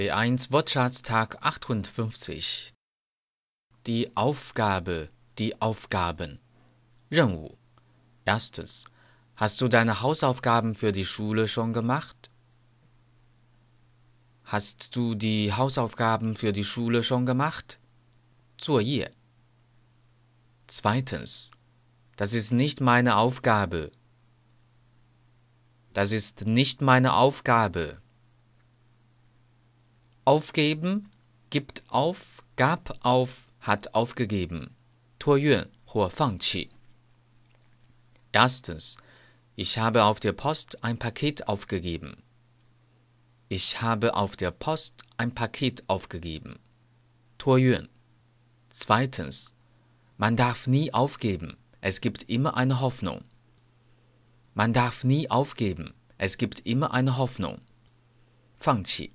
B1 Wortschatztag 58. Die Aufgabe, die Aufgaben. 任务. Erstes. Hast du deine Hausaufgaben für die Schule schon gemacht? Hast du die Hausaufgaben für die Schule schon gemacht? 作业. Zweitens. Das ist nicht meine Aufgabe. Das ist nicht meine Aufgabe. Aufgeben, gibt auf, gab auf, hat aufgegeben. 托运或放弃. Erstens. Ich habe auf der Post ein Paket aufgegeben. Ich habe auf der Post ein Paket aufgegeben. 托运. Zweitens. Man darf nie aufgeben. Es gibt immer eine Hoffnung. Man darf nie aufgeben. Es gibt immer eine Hoffnung. 放弃.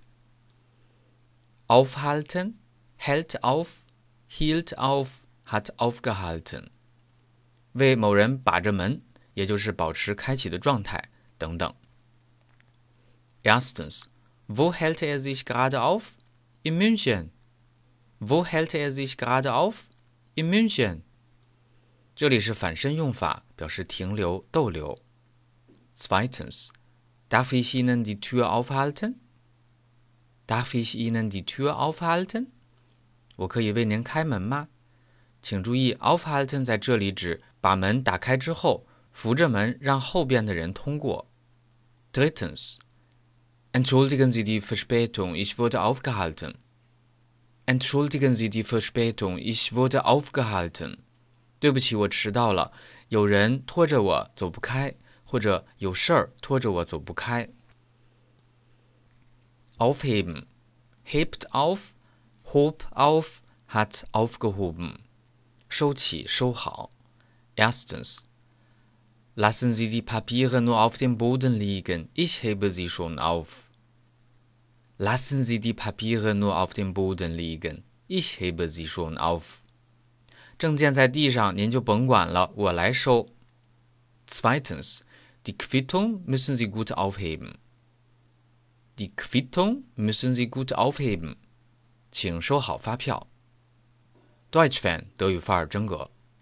Aufhalten, hält auf, hielt auf, hat aufgehalten. 为某人把着门，也就是保持开启的状态等等。Erstens. Wo hält er sich gerade auf? In München. Wo hält er sich gerade auf? In München. 这里是反身用法，表示停留、逗留。Zweitens. Darf ich Ihnen die Tür aufhalten? Darf ich Ihnen die Tür aufhalten? 我可以为您开门吗？请注意 aufhalten 在这里指把门打开之后，扶着门让后边的人通过。Drittens. Entschuldigen Sie die Verspätung, ich wurde aufgehalten. Entschuldigen Sie die Verspätung, ich wurde aufgehalten. 对不起，我迟到了，有人拖着我走不开，或者有事儿拖着我走不开。Aufheben. Hebt auf, hob auf, hat aufgehoben. 收起，收好。Erstens. Lassen Sie die Papiere nur auf dem Boden liegen, ich hebe sie schon auf. Lassen Sie die Papiere nur auf dem Boden liegen, ich hebe sie schon auf. 证件在地上，您就甭管了，我来收。Zweitens. Die Quittung müssen Sie gut aufheben. Die Quittung müssen Sie gut aufheben. 请收好发票。Deutsch Fan 德语范儿真格。